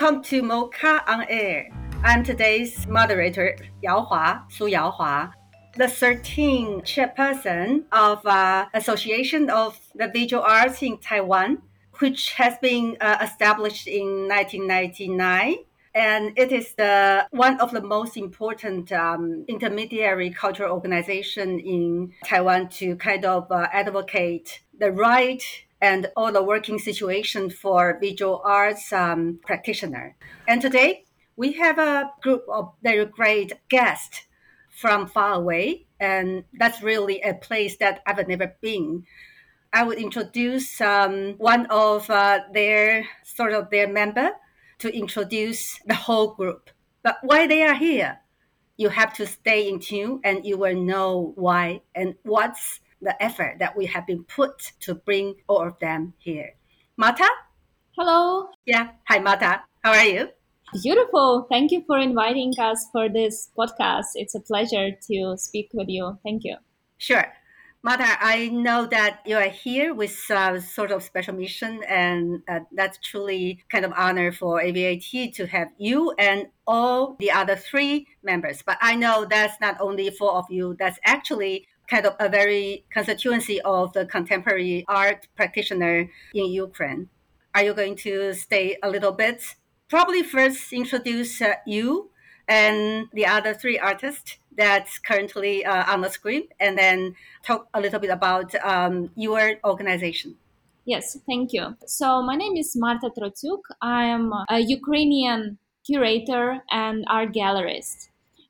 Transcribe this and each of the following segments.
Welcome to MoCA on Air. I'm today's moderator, Su Yaohua, the 13th chairperson of Association of the Visual Arts in Taiwan, which has been established in 1999. And it is one of the most important intermediary cultural organization in Taiwan to kind of advocate the right and all the working situation for visual arts practitioner. And today, we have a group of very great guests from far away, and that's really a place that I've never been. I would introduce one of their member to introduce the whole group. But why they are here, you have to stay in tune and you will know why and what's the effort that we have been put to bring all of them here. Marta? Hello. Yeah. Hi, Marta. How are you? Beautiful. Thank you for inviting us for this podcast. It's a pleasure to speak with you. Thank you. Sure. Marta, I know that you are here with sort of special mission, and that's truly kind of honor for AVAT to have you and all the other three members. But I know that's not only four of you, that's actually kind of a very constituency of the contemporary art practitioner in Ukraine. Are you going to stay a little bit? Probably first introduce you and the other three artists that's currently on the screen, and then talk a little bit about your organization. Yes, thank you. So my name is Marta Trotyuk. I am a Ukrainian curator and art gallerist.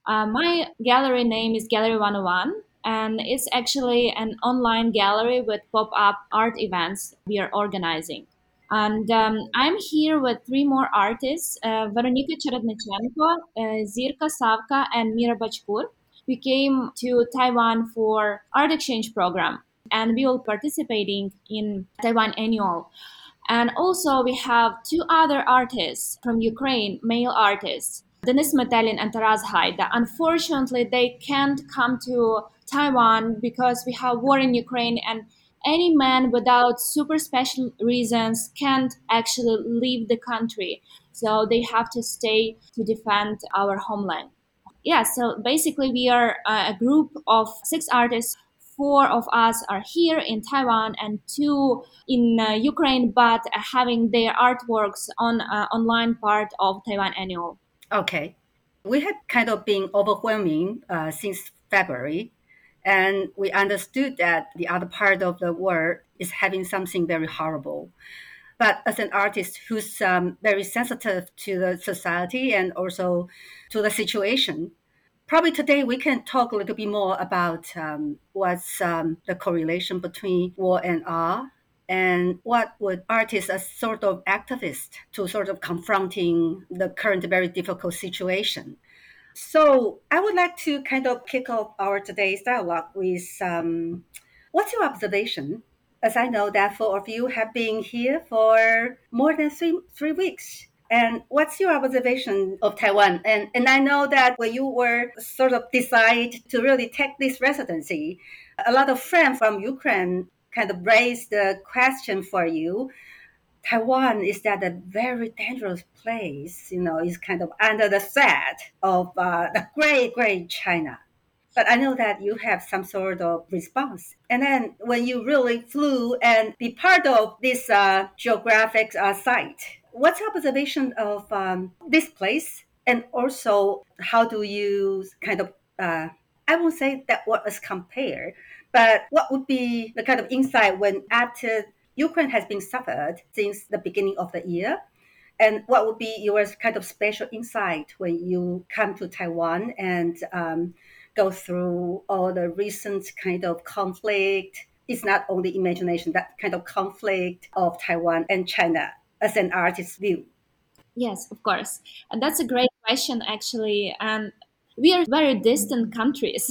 My gallery name is Gallery 101, and it's actually an online gallery with pop-up art events we are organizing. And I'm here with three more artists, Veronika Cherednichenko, Zirka Savka, and Mira Bachkur. We came to Taiwan for art exchange program, and we will participating in Taiwan Annual. And also we have two other artists from Ukraine, male artists, Denis Metelin and Taras Haida. Unfortunately, they can't come to Taiwan because we have war in Ukraine, and any man without super special reasons can't actually leave the country. So they have to stay to defend our homeland. Yeah, so basically we are a group of 6 artists. 4 of us are here in Taiwan and 2 in Ukraine, but having their artworks on online part of Taiwan Annual. Okay. We had kind of been overwhelming since February, and we understood that the other part of the world is having something very horrible. But as an artist who's very sensitive to the society and also to the situation, probably today we can talk a little bit more about what's the correlation between war and art, and what would artists as sort of activists to sort of confronting the current very difficult situation. So I would like to kind of kick off our today's dialogue with what's your observation? As I know that 4 of you have been here for more than three weeks. And what's your observation of Taiwan? And I know that when you were sort of decide to really take this residency, a lot of friends from Ukraine kind of raised the question for you. Taiwan is that a very dangerous place, is kind of under the threat of the great China. But I know that you have some sort of response. And then when you really flew and be part of this geographic site, what's your observation of this place? And also, how do you kind of, I won't say that what is compared, but what would be the kind of insight when after Ukraine has been suffered since the beginning of the year? And what would be your kind of special insight when you come to Taiwan and go through all the recent kind of conflict? It's not only imagination, that kind of conflict of Taiwan and China as an artist's view. Yes, of course. And that's a great question, actually. And we are very distant countries,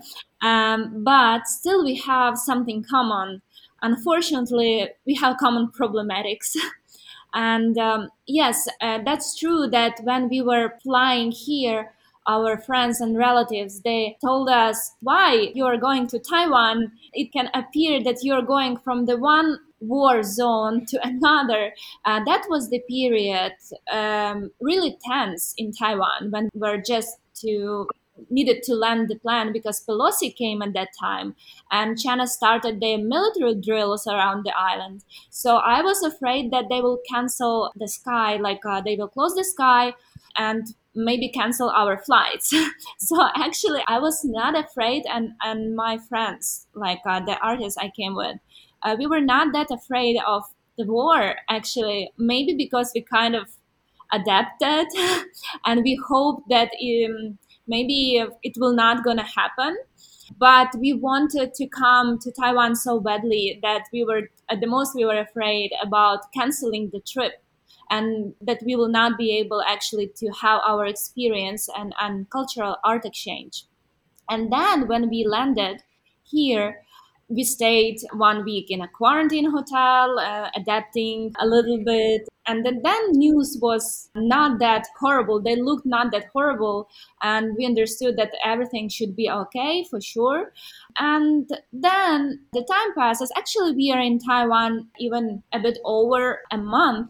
but still we have something common. Unfortunately, we have common problematics. And yes, that's true that when we were flying here, our friends and relatives, they told us, why you are going to Taiwan? It can appear that you're going from the one war zone to another. That was the period really tense in Taiwan when we're just to needed to land the plan because Pelosi came at that time and China started their military drills around the island. So I was afraid that they will cancel the sky, like they will close the sky and maybe cancel our flights. So actually, I was not afraid, and my friends, like the artists I came with, we were not that afraid of the war. Actually, maybe because we kind of adapted, and we hope that maybe it will not gonna happen, but we wanted to come to Taiwan so badly that we were at the most we were afraid about canceling the trip and that we will not be able actually to have our experience and cultural art exchange. And then when we landed here, we stayed 1 week in a quarantine hotel, adapting a little bit. And then news was not that horrible. They looked not that horrible. And we understood that everything should be okay for sure. And then the time passes. Actually, we are in Taiwan even a bit over a month.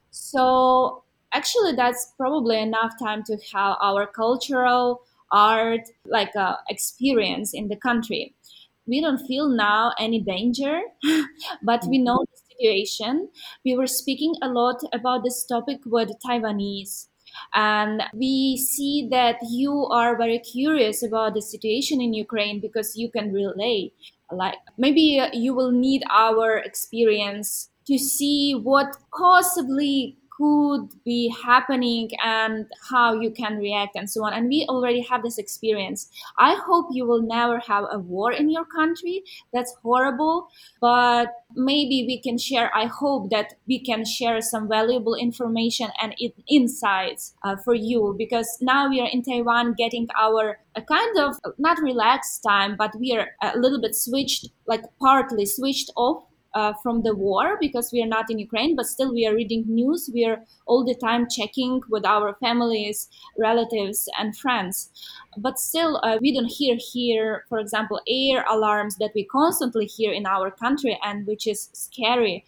So actually, that's probably enough time to have our cultural art like experience in the country. We don't feel now any danger, but we know the situation. We were speaking a lot about this topic with Taiwanese, and we see that you are very curious about the situation in Ukraine because you can relate. Like maybe you will need our experience to see what possibly could be happening and how you can react and so on. And we already have this experience. I hope you will never have a war in your country. That's horrible. But maybe we can share, I hope that we can share some valuable information and insights for you, because now we are in Taiwan getting our a kind of not relaxed time, but we are a little bit switched, like partly switched off from the war because we are not in Ukraine, but still we are reading news. We are all the time checking with our families, relatives, and friends. But still, we don't hear here, for example, air alarms that we constantly hear in our country and which is scary.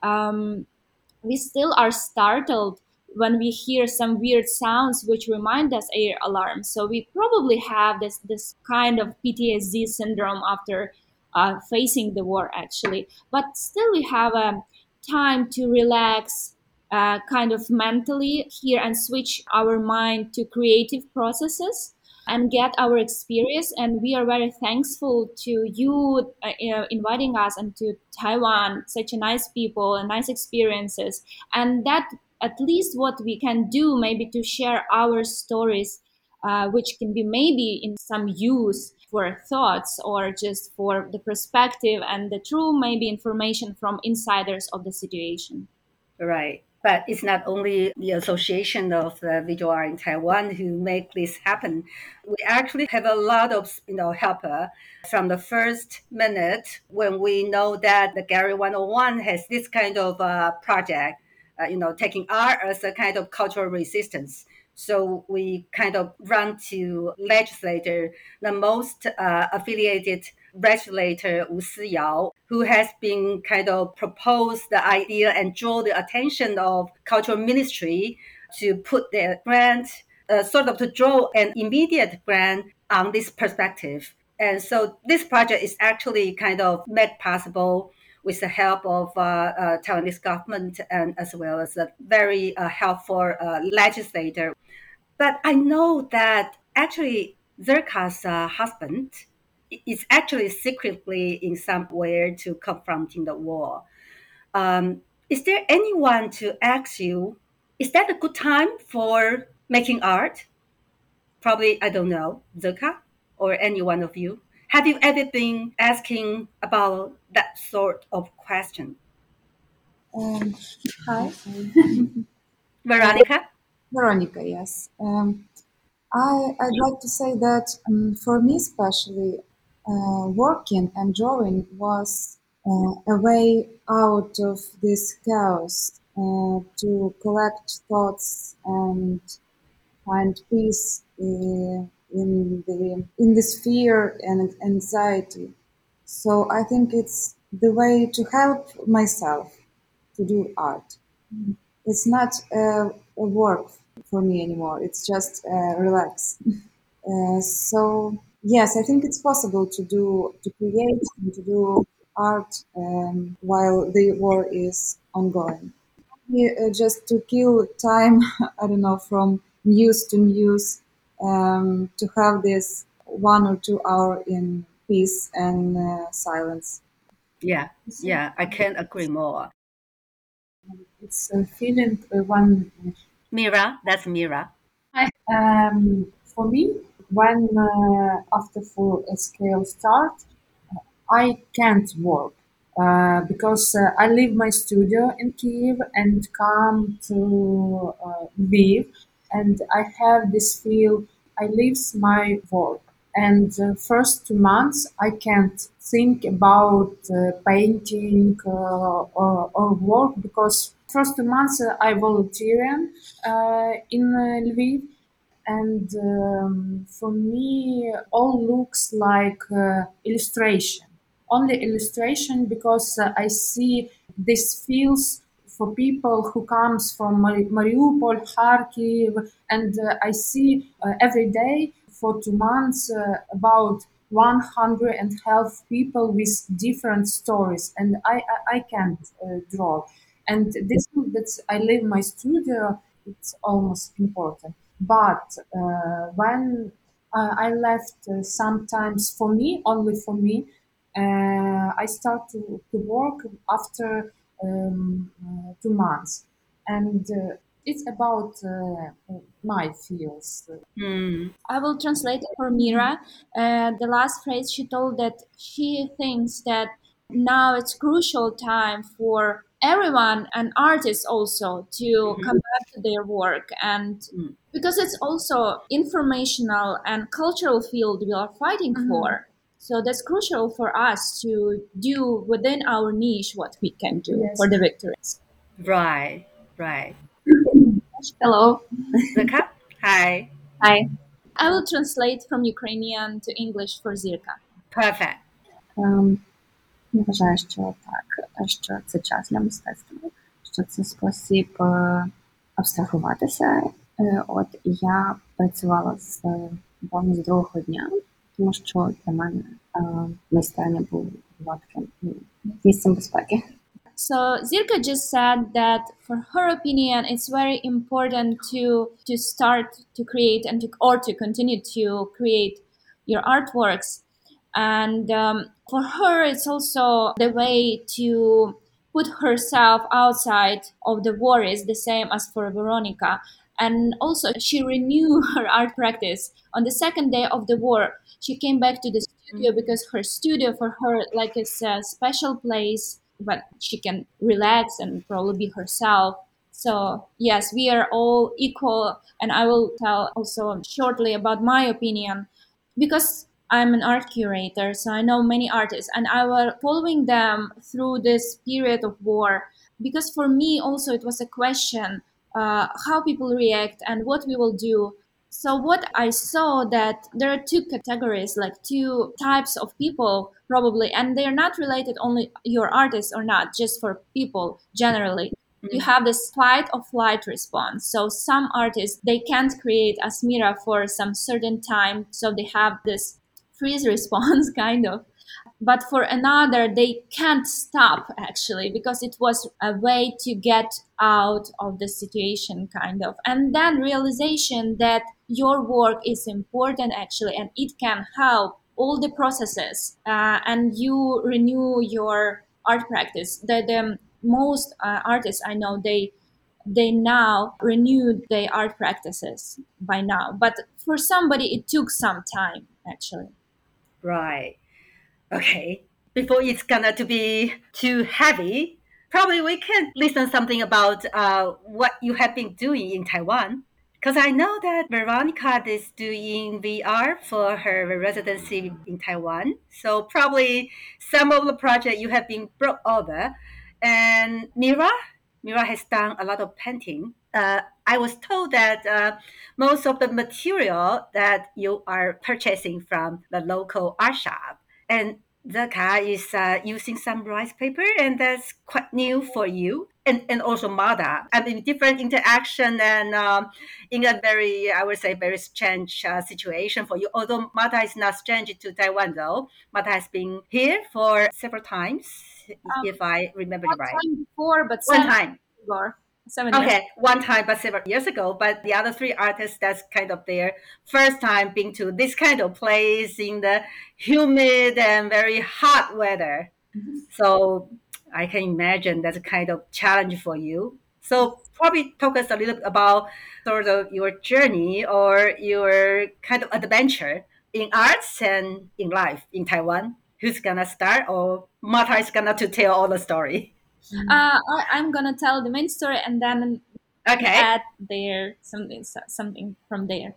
Um, we still are startled when we hear some weird sounds which remind us air alarms. So we probably have this kind of PTSD syndrome after facing the war, actually. But still, we have a time to relax, kind of mentally here and switch our mind to creative processes and get our experience. And we are very thankful to you inviting us and to Taiwan, such a nice people and nice experiences. And that at least what we can do maybe to share our stories, which can be maybe in some use for thoughts or just for the perspective and the true maybe information from insiders of the situation. Right. But it's not only the Association of the Visual Art in Taiwan who make this happen. We actually have a lot of helper from the first minute when we know that the Gallery 101 has this kind of project, taking art as a kind of cultural resistance. So we kind of run to legislator, the most affiliated legislator Wu Siyao, who has been kind of proposed the idea and draw the attention of cultural ministry to put their grant, sort of to draw an immediate grant on this perspective. And so this project is actually kind of made possible with the help of Taiwanese government and as well as a very helpful legislator. But I know that actually Zerka's husband is actually secretly in somewhere to confronting the war. Is there anyone to ask you, is that a good time for making art? Probably, I don't know, Zerka or any one of you. Have you ever been asking about that sort of question? Um, Hi, Veronica? Veronica. Yes, I'd like to say that for me, especially, working and drawing was a way out of this chaos to collect thoughts and find peace in this fear and anxiety. So I think it's the way to help myself to do art. It's not a work for me anymore. It's just relax. So yes, I think it's possible to create and to do art while the war is ongoing. Yeah, just to kill time, I don't know, from news to news, to have this 1 or 2 hour in peace and silence. Yeah, yeah, I can't agree more. It's a feeling when Mira, that's Mira. for me when after full scale start I can't work because I leave my studio in Kiev and come to Lviv, and I have this feel I leaves my work. And the first 2 months I can't think about painting or work because first 2 months I volunteering in Lviv, and for me all looks like illustration, only illustration, because I see this feels for people who comes from Mariupol, Kharkiv, and I see every day for 2 months about 100 and half people with different stories, and I can't draw. And this that I leave my studio, it's almost important. But when I left, sometimes for me, only for me, I start to work after 2 months, and it's about my feels. Mm, I will translate it for Mira. The last phrase she told that she thinks that now it's crucial time for everyone and artists also to mhm, come back to their work, and mm. because it's also informational and cultural field we are fighting for. So that's crucial for us to do within our niche what we can do Yes. for the victories. Right, right. Hello. Zaka? Hi. Hi. I will translate from Ukrainian to English for Zirka. Perfect. Я вважаю, що так, що це час для мистецтва, що це спосіб абстрагуватися. От я працювала з буквально з другого дня, тому що для мене майстерня була таким місцем безпеки. So Zirka just said that for her opinion, it's very important to start to create and to continue to create your artworks. And for her, it's also the way to put herself outside of the worries, the same as for Veronica. And also, she renewed her art practice on the second day of the war. She came back to the studio because her studio for her like is a special place, but she can relax and probably be herself. So yes, we are all equal, and I will tell also shortly about my opinion because I'm an art curator, so I know many artists, and I was following them through this period of war. Because for me, also, it was a question how people react and what we will do. So what I saw that there are two categories, like two types of people probably, and they are not related only your artists or not, just for people generally. You have this fight or flight response. So some artists they can't create as Mira for some certain time, so they have this freeze response kind of. But for another, they can't stop actually because it was a way to get out of the situation kind of. And then realization that your work is important actually, and it can help all the processes, and you renew your art practice. The most artists I know they now renewed their art practices by now, but for somebody it took some time actually. Right. Okay. Before it's gonna to be too heavy, probably we can listen something about what you have been doing in Taiwan. Because I know that Veronica is doing VR for her residency in Taiwan. So probably some of the project you have been brought over. And Mira has done a lot of painting. I was told that most of the material that you are purchasing from the local art shop, and Zaka is using some rice paper, and that's quite new for you. And also Mada. I mean, different interaction and in a very, I would say, very strange situation for you. Although Mada is not strange to Taiwan, though. Mada has been here for several times, Um, if I remember it Not right. time before, but One 7 years time. ago. 7 years. Okay, one time, but several years ago. But the other three artists, that's kind of their first time being to this kind of place in the humid and very hot weather. So I can imagine that's a kind of challenge for you. So probably talk us a little about sort of your journey or your kind of adventure in arts and in life in Taiwan. Who's gonna start, or Martha is gonna to tell all the story? I'm gonna tell the main story and then Okay, add there something from there.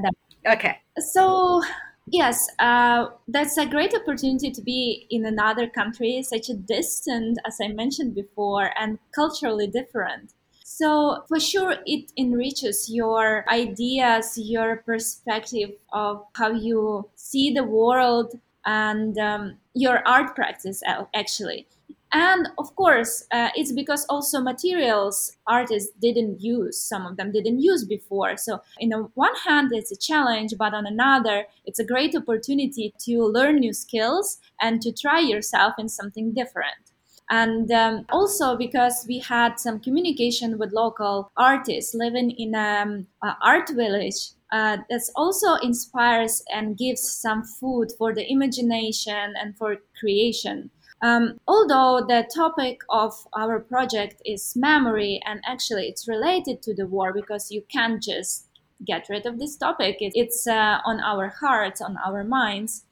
okay. So yes, that's a great opportunity to be in another country, such a distant, as I mentioned before, and culturally different. So for sure, it enriches your ideas, your perspective of how you see the world and your art practice actually. And of course, it's because also materials artists didn't use, some of them didn't use before. So, in a one hand, it's a challenge, but on another, it's a great opportunity to learn new skills and to try yourself in something different. And also because we had some communication with local artists living in an art village that also inspires and gives some food for the imagination and for creation. Although the topic of our project is memory, and actually it's related to the war because you can't just get rid of this topic, it's on our hearts, on our minds.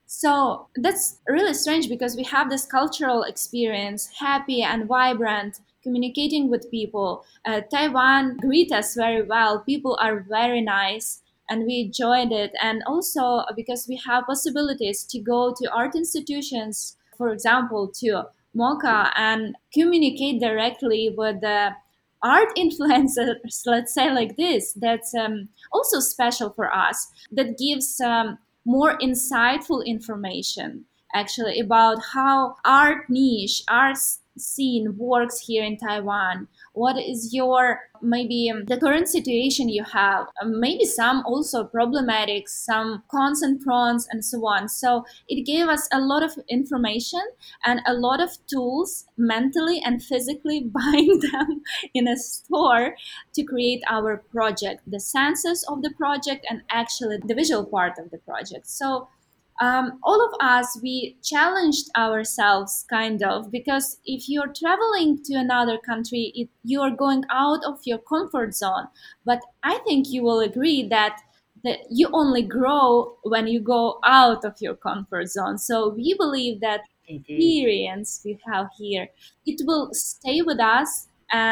So that's really strange because we have this cultural experience, happy and vibrant, communicating with people. Taiwan greet us very well. People are very nice and we enjoyed it. And also because we have possibilities to go to art institutions, for example, to MOCA and communicate directly with the art influencers, let's say like this, that's also special for us, that gives more insightful information actually about how art niche, art scene works here in Taiwan. What is your maybe the current situation you have? Maybe some also problematic, some cons and pros, and so on. So it gave us a lot of information and a lot of tools mentally and physically buying them in a store to create our project, the senses of the project, and actually the visual part of the project. So all of us, we challenged ourselves kind of because if you're traveling to another country, you're going out of your comfort zone. But I think you will agree that you only grow when you go out of your comfort zone. So we believe that Indeed. experience we have here, it will stay with us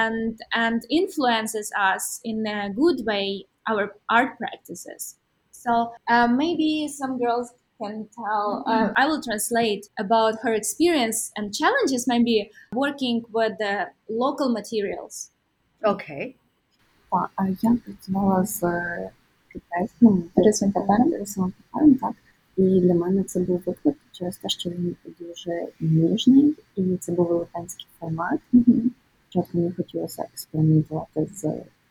and influences us in a good way our art practices. So maybe some girls can tell. I will translate about her experience and challenges, maybe working with the local materials. Okay. Я працювала з китайським рисовим папером, так. І для мене це був виклик через те, що він дуже ніжний, і це був велетенський формат. Спочатку мені хотілося експериментувати з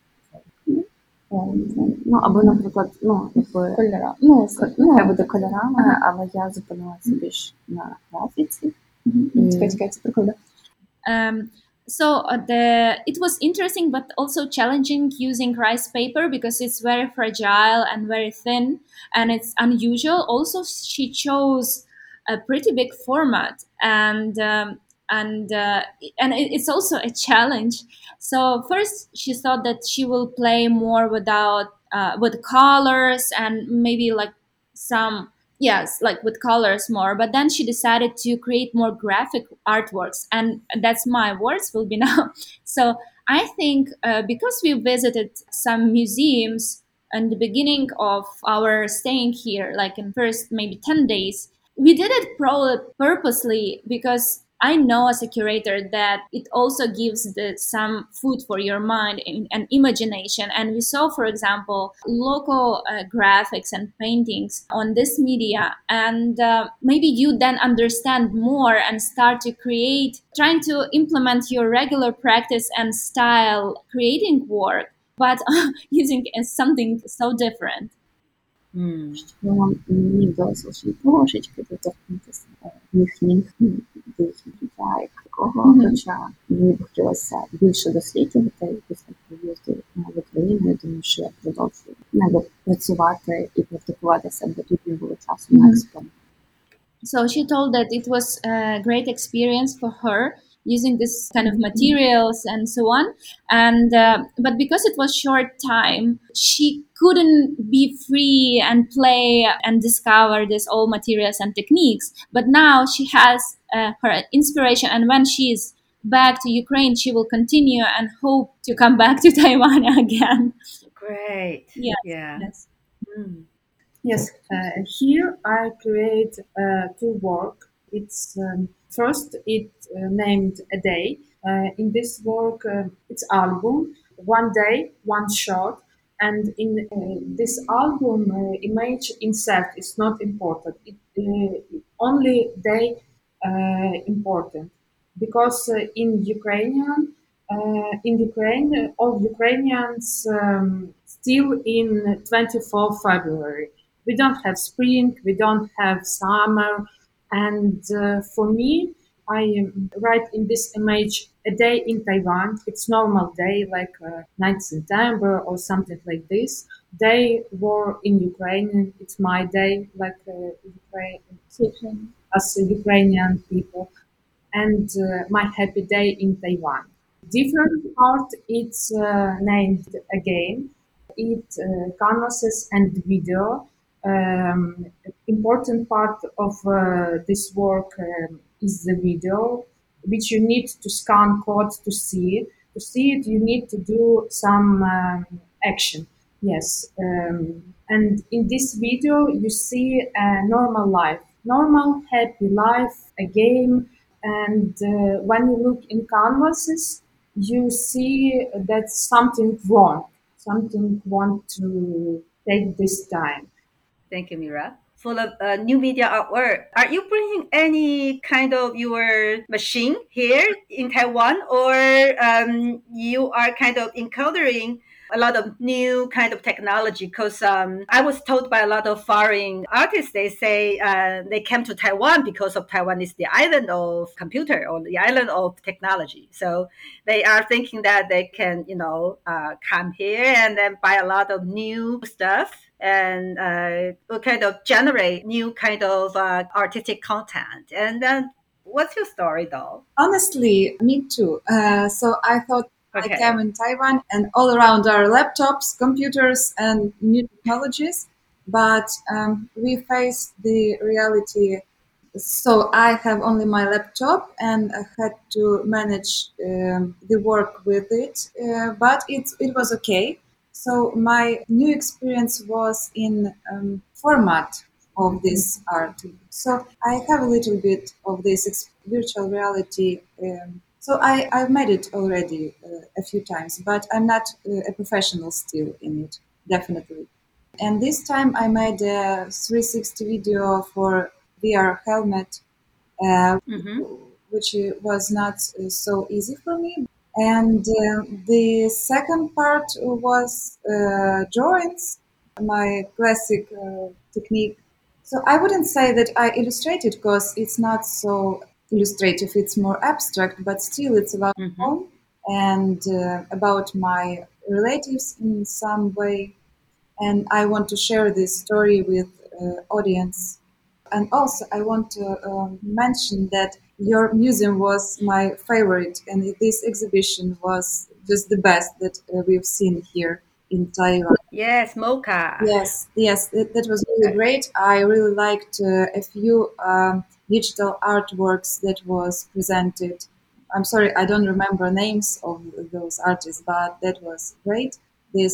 ну, або, наприклад, якби Кольора. хай буде кольорами, але я зупинилася більш на графіці. Чекай, це прикольно. So it was interesting but also challenging using rice paper because it's very fragile and very thin and it's unusual. Also, she chose a pretty big format and it's also a challenge. So first she thought that she will play more with colors and maybe like some, yes, like with colors more, but then she decided to create more graphic artworks, and that's my words will be now. So I think because we visited some museums in the beginning of our staying here, like in first maybe 10 days, we did it probably purposely because I know as a curator that it also gives some food for your mind and imagination. And we saw, for example, local graphics and paintings on this media. And maybe you then understand more and start to create, trying to implement your regular practice and style creating work, but using something so different. Що мені вдалося лише трошечки доторкнутися їхніх до їхніх життя як такого, хоча мені б хотілося більше досліджувати після приїзду в Україну, я думаю, що я продовжую працювати і практикуватися, бо тут не було часу на експеримент. So she told that it was a great experience for her using this kind of materials and so on. And but because it was short time, she couldn't be free and play and discover these old materials and techniques. But now she has her inspiration, and when she's back to Ukraine, she will continue and hope to come back to Taiwan again. Great. Yes. Yeah. Yes. Yes, here I create two work. It's first it named A Day. In this work, it's album, one day, one shot, and in this album, image insert is not important. It only day important because in Ukraine, all Ukrainians still in 24 February. We don't have spring, we don't have summer, and for me, I write in this image a day in Taiwan. It's normal day, like 9th September or something like this. They were in Ukraine. It's my day, like Ukraine, as a Ukrainian people, and my happy day in Taiwan. Different part, it's named again. It canvases and video. Important part of this work is the video, which you need to scan code to see it. To see it, you need to do some action. Yes, and in this video, you see a normal life, normal happy life, a game. And when you look in canvases, you see that something wrong, something want to take this time. Thank you, Mira. For the new media artwork, are you bringing any kind of your machine here in Taiwan, or you are kind of encountering a lot of new kind of technology? Because I was told by a lot of foreign artists, they say they came to Taiwan because of Taiwan is the island of computer or the island of technology. So they are thinking that they can, come here and then buy a lot of new stuff and will kind of generate new kind of artistic content. And then what's your story though? Honestly, me too. So I thought Okay. I came in Taiwan and all around are laptops, computers, and new technologies. But we face the reality. So I have only my laptop and I had to manage the work with it. But it was okay. So my new experience was in format of this art. So I have a little bit of this virtual reality. So I've made it already a few times, but I'm not a professional still in it, definitely. And this time I made a 360 video for VR helmet, which was not so easy for me. And the second part was drawings, my classic technique. So I wouldn't say that I illustrated because it's not so illustrative, it's more abstract, but still it's about home and about my relatives in some way. And I want to share this story with audience. And also I want to mention that your museum was my favorite and this exhibition was just the best that we've seen here in Taiwan. Yes, Mocha. Yes, that was really great. I really liked a few digital artworks that was presented. I'm sorry, I don't remember names of those artists, but that was great. This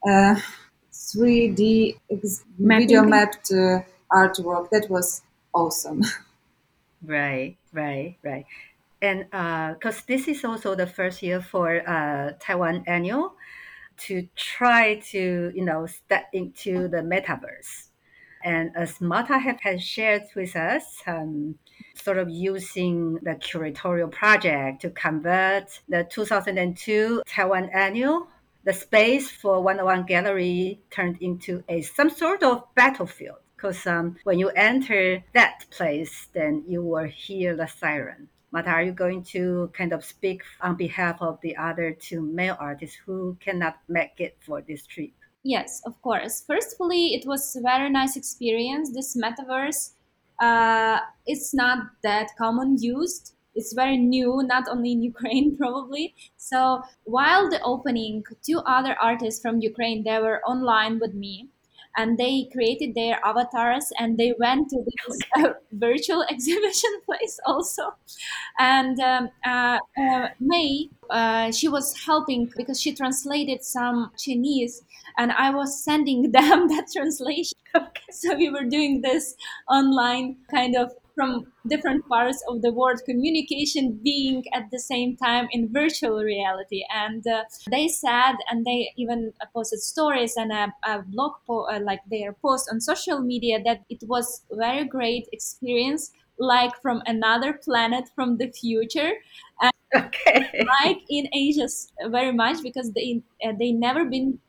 3D video mapped artwork, that was awesome. Right. And because this is also the first year for Taiwan Annual to try to, step into the metaverse. And as Marta has shared with us, sort of using the curatorial project to convert the 2002 Taiwan Annual, the space for 101 Gallery turned into some sort of battlefield. Because when you enter that place, then you will hear the siren. Marta, are you going to kind of speak on behalf of the other two male artists who cannot make it for this trip? Yes, of course. Firstly, it was a very nice experience. This metaverse, it's not that common used. It's very new, not only in Ukraine probably. So while the opening, two other artists from Ukraine, they were online with me, and they created their avatars and they went to this virtual exhibition place also. And May, she was helping because she translated some Chinese, and I was sending them that translation. So we were doing this online kind of from different parts of the world, communication being at the same time in virtual reality. And they said, and they even posted stories and a like their post on social media, that it was very great experience, like from another planet from the future. And Okay. like in Asia very much, because they never been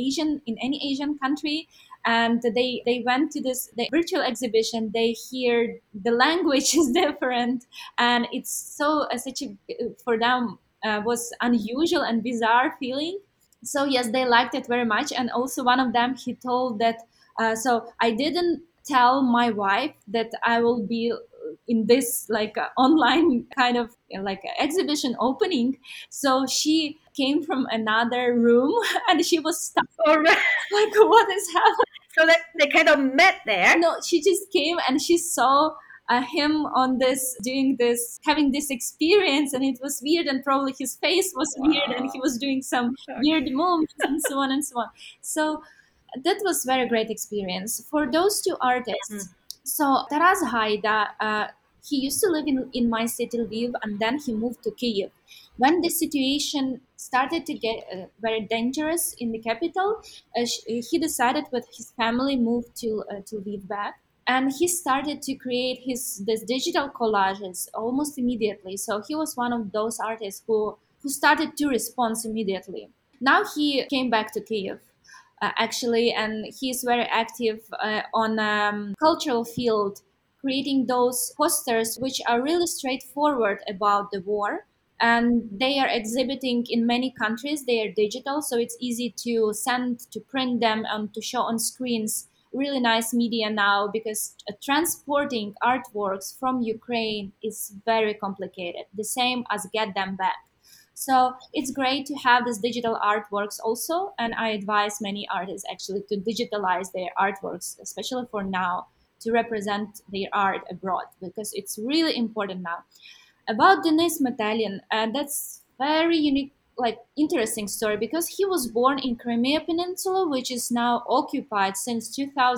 in any Asian country, and they went to this the virtual exhibition. They hear the language is different, and it's so such a for them was unusual and bizarre feeling. So yes, they liked it very much. And also one of them, he told that so I didn't tell my wife that I will be in this like online kind of like exhibition opening. So she came from another room and she was stuck. All right. Like, what is happening? So they kind of met there. No, she just came and she saw him on this doing this, having this experience, and it was weird, and probably his face was weird, and he was doing some weird movements and so on and so on. So that was very great experience for those two artists. So Taras Haida, he used to live in my city Lviv, and then he moved to Kyiv. When the situation started to get very dangerous in the capital, he decided with his family moved to Lviv back, and he started to create this digital collages almost immediately. So he was one of those artists who started to respond immediately. Now he came back to Kyiv actually, and he's very active on cultural field, creating those posters which are really straightforward about the war. And they are exhibiting in many countries. They are digital, so it's easy to send, to print them, and to show on screens. Really nice media now, because transporting artworks from Ukraine is very complicated, the same as get them back. So it's great to have these digital artworks also, and I advise many artists actually to digitalize their artworks, especially for now, to represent their art abroad, because it's really important now. About Denis Metelin, that's very unique, like interesting story, because he was born in Crimea Peninsula, which is now occupied since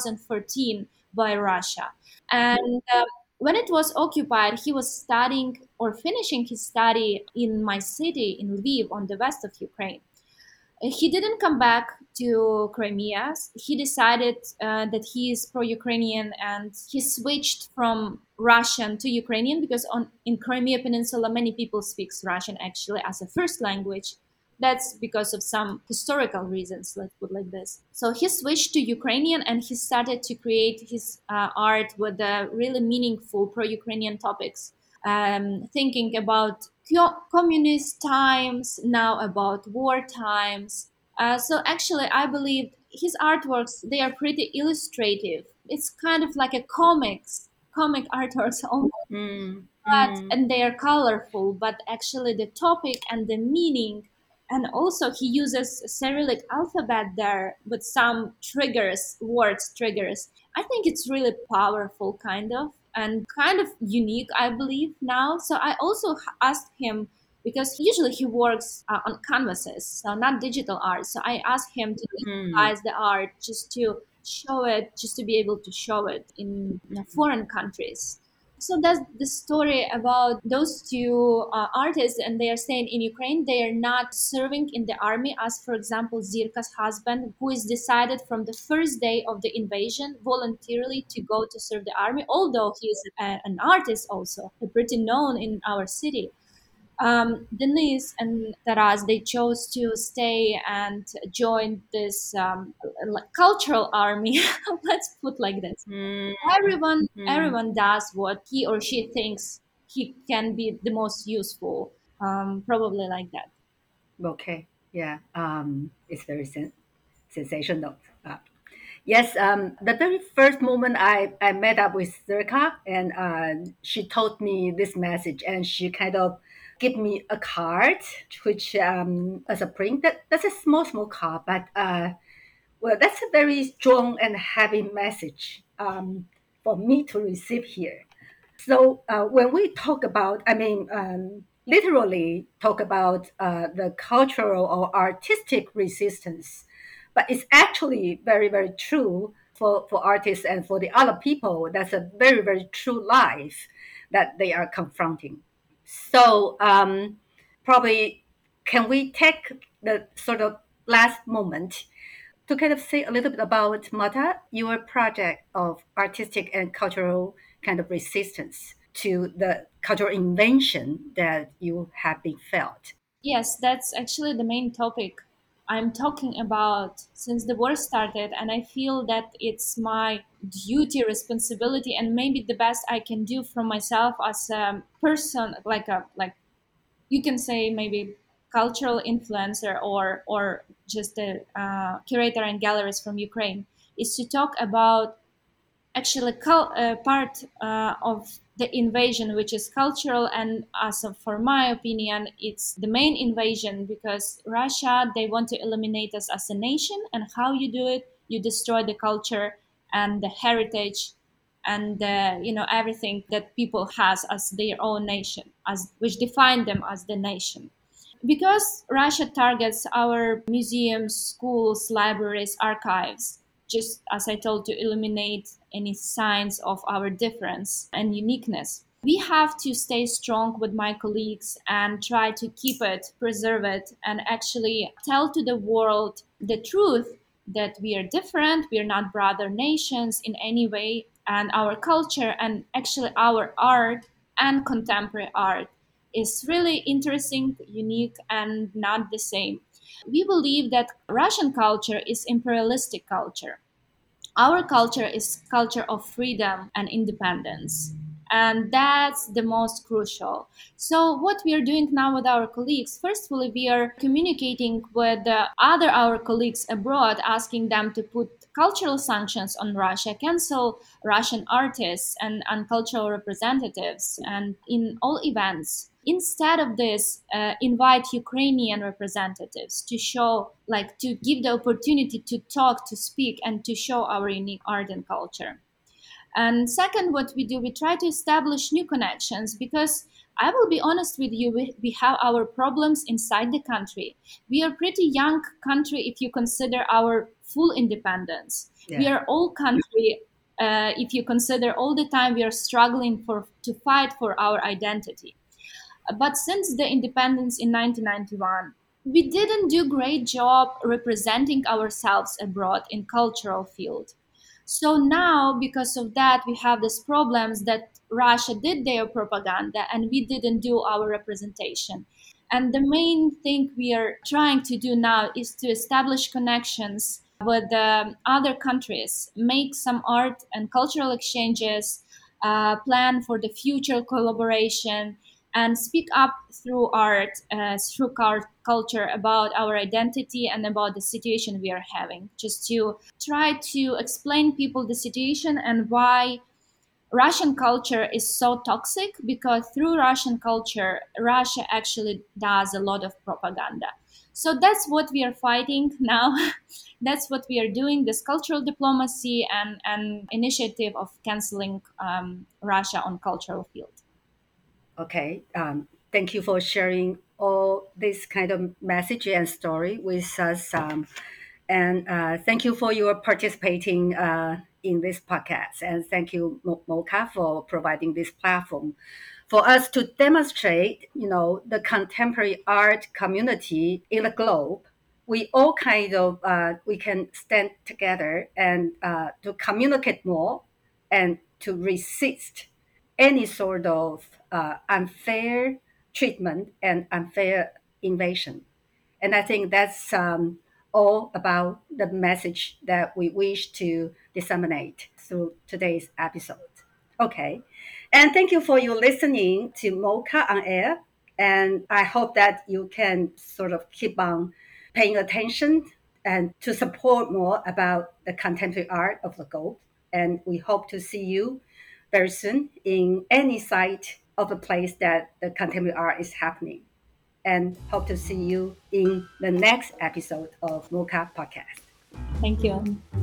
2014 by Russia. And when it was occupied, he was studying or finishing his study in my city in Lviv on the west of Ukraine. He didn't come back to Crimea. He decided that he is pro-Ukrainian, and he switched from Russian to Ukrainian, because in Crimea Peninsula many people speak Russian actually as a first language. That's because of some historical reasons, let's put like this. So he switched to Ukrainian, and he started to create his art with really meaningful pro-Ukrainian topics, thinking about communist times, now about war times. So actually, I believe his artworks, they are pretty illustrative. It's kind of like a comic artworks almost, and they are colorful. But actually, the topic and the meaning, and also he uses Cyrillic alphabet there with some triggers, words triggers. I think it's really powerful, kind of, and kind of unique, I believe now. So I also asked him, because usually he works on canvases, so not digital art. So I asked him to digitize the art, just to show it, just to be able to show it in foreign countries. So that's the story about those two artists, and they are staying in Ukraine. They are not serving in the army, as for example, Zirka's husband, who is decided from the first day of the invasion voluntarily to go to serve the army, although he is an artist also, pretty known in our city. Denise and Taras, they chose to stay and join this cultural army. Let's put like this. Mm, mm. Everyone does what he or she thinks he can be the most useful. Probably like that. Okay. Yeah. It's very sensational. Yes. The very first moment I met up with Zerka, and she told me this message, and she kind of give me a card, which as a print, that's a small card, but well, that's a very strong and heavy message for me to receive here. So when we talk about, I mean, literally talk about the cultural or artistic resistance, but it's actually very true for artists and for the other people. That's a very true life that they are confronting. So probably can we take the sort of last moment to kind of say a little bit about Mata, your project of artistic and cultural kind of resistance to the cultural invention that you have been felt. Yes, that's actually the main topic I'm talking about since the war started, and I feel that it's my duty, responsibility, and maybe the best I can do from myself as a person, like you can say maybe cultural influencer or just a curator and gallerist from Ukraine, is to talk about actually part of the invasion, which is cultural, and as of, for my opinion, it's the main invasion because Russia, they want to eliminate us as a nation. And how you do it? You destroy the culture and the heritage and everything that people has as their own nation, as which define them as the nation. Because Russia targets our museums, schools, libraries, archives, just as I told, to eliminate any signs of our difference and uniqueness. We have to stay strong with my colleagues and try to keep it, preserve it, and actually tell to the world the truth that we are different, we are not brother nations in any way, and our culture and actually our art and contemporary art is really interesting, unique, and not the same. We believe that Russian culture is imperialistic culture. Our culture is culture of freedom and independence. And that's the most crucial. So what we are doing now with our colleagues, firstly, we are communicating with other our colleagues abroad, asking them to put cultural sanctions on Russia, cancel Russian artists and cultural representatives, and in all events. Instead of this, invite Ukrainian representatives to show, like, to give the opportunity to talk, to speak, and to show our unique art and culture. And second, what we do, we try to establish new connections because I will be honest with you, we have our problems inside the country. We are a pretty young country if you consider our full independence. Yeah. We are old country if you consider all the time we are struggling to fight for our identity. But since the independence in 1991, we didn't do great job representing ourselves abroad in cultural field. So now, because of that, we have these problems that Russia did their propaganda and we didn't do our representation. And the main thing we are trying to do now is to establish connections with other countries, make some art and cultural exchanges, plan for the future collaboration, and speak up through art, through culture about our identity and about the situation we are having, just to try to explain people the situation and why Russian culture is so toxic, because through Russian culture, Russia actually does a lot of propaganda. So that's what we are fighting now. That's what we are doing, this cultural diplomacy and initiative of canceling Russia on cultural field. Okay. Thank you for sharing all this kind of message and story with us. And thank you for your participating in this podcast. And thank you, Mocha, for providing this platform for us to demonstrate, the contemporary art community in the globe. We all we can stand together and to communicate more and to resist any sort of unfair treatment and unfair invasion. And I think that's all about the message that we wish to disseminate through today's episode. Okay. And thank you for your listening to Mocha on Air. And I hope that you can sort of keep on paying attention and to support more about the contemporary art of the Gold. And we hope to see you very soon in any site of a place that the contemporary art is happening. And hope to see you in the next episode of Mocha Podcast. Thank you.